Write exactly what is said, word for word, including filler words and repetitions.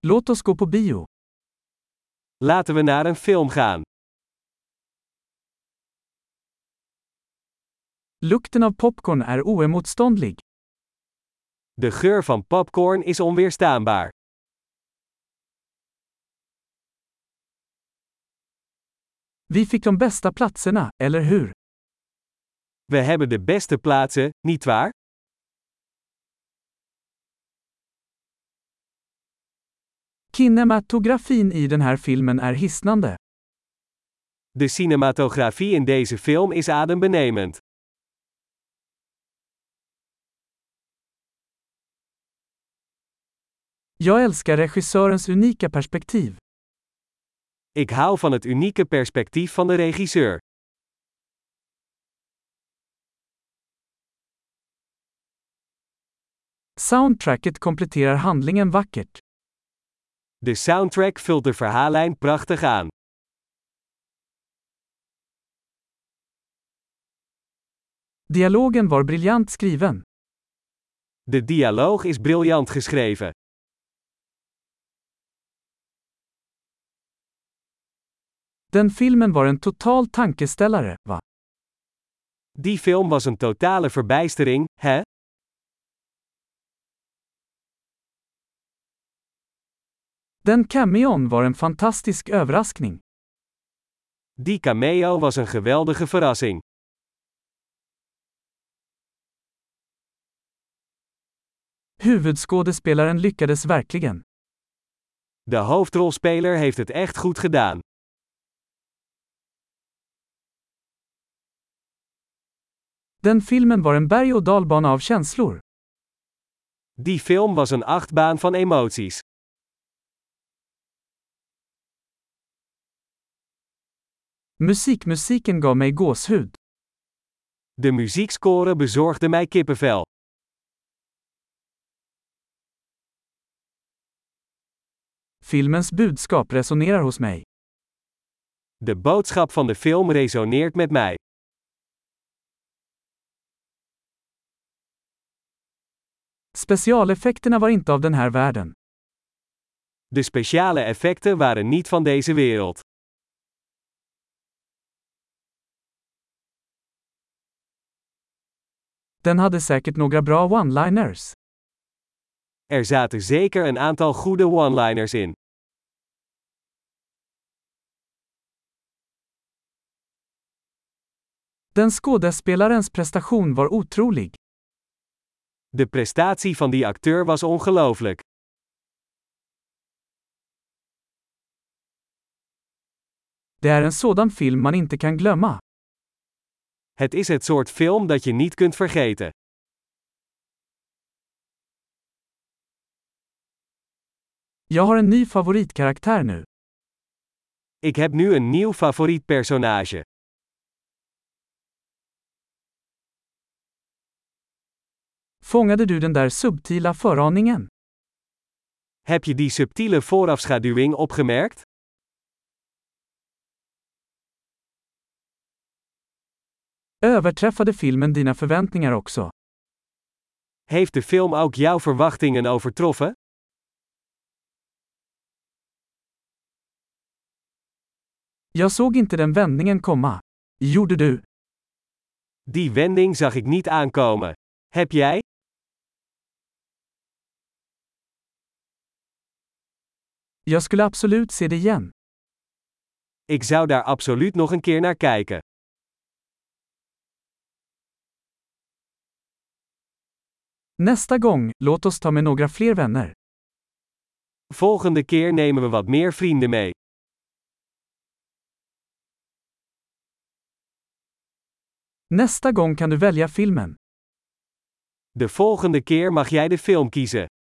Låt oss gå på bio. Laten we naar een film gaan. Lukten av popcorn är oemotståndlig. De geur van popcorn is onweerstaanbaar. Vi fick de bästa platserna, eller hur? We hebben de beste plaatsen, nietwaar? Kinematografin i den här filmen är hisnande. De cinematografie in deze film is adembenemend. Jag älskar regissörens unika perspektiv. Ik hou van het unieke perspectief van de regisseur. Soundtracket kompletterar handlingen vackert. De soundtrack vult de verhaallijn prachtig aan. Dialogen var briljant skriven. De dialoog is briljant geschreven. Den filmen var en total tankeställare, va? Die film was een totale verbijstering, hè? Den cameon var en fantastisk överraskning. Die cameo was een geweldige verrassing. Huvudskådespelaren lyckades verkligen. De hoofdrolspeler heeft het echt goed gedaan. Den filmen var en berg- och dalbana av känslor. Die film was een achtbaan van emoties. Musikmusiken gav mig gåshud. De muziekscore bezorgde mij kippenvel. Filmens budskap resonerar hos mig. De boodschap van de film resoneert met mij. Specialeffekterna var inte av den här världen. De speciale effecten waren niet van deze wereld. Den hade säkert några bra one-liners. Er zaten zeker een aantal goede one-liners in. Den skådespelarens prestation var otrolig. De prestatie van die acteur was ongelooflijk. Det är en sådan film man inte kan glömma. Het is het soort film dat je niet kunt vergeten. Jag har en ny favoritkaraktär nu. Ik heb nu een nieuw favoriet personage. Fångade du den där subtila föraningen? Heb je die subtiele voorafschaduwing opgemerkt? Överträffade filmen dina förväntningar också? Heeft de film ook jouw verwachtingen overtroffen? Jag såg inte den vändningen komma. Gjorde du? Die wending zag ik niet aankomen. Heb jij? Jag skulle absolut se det igen. Ik zou daar absoluut nog een keer naar kijken. Nästa gång, låt oss ta med några fler vänner. Volgende keer nemen we wat meer vrienden mee. Nästa gång kan du välja filmen. De volgende keer mag jij de film kiezen.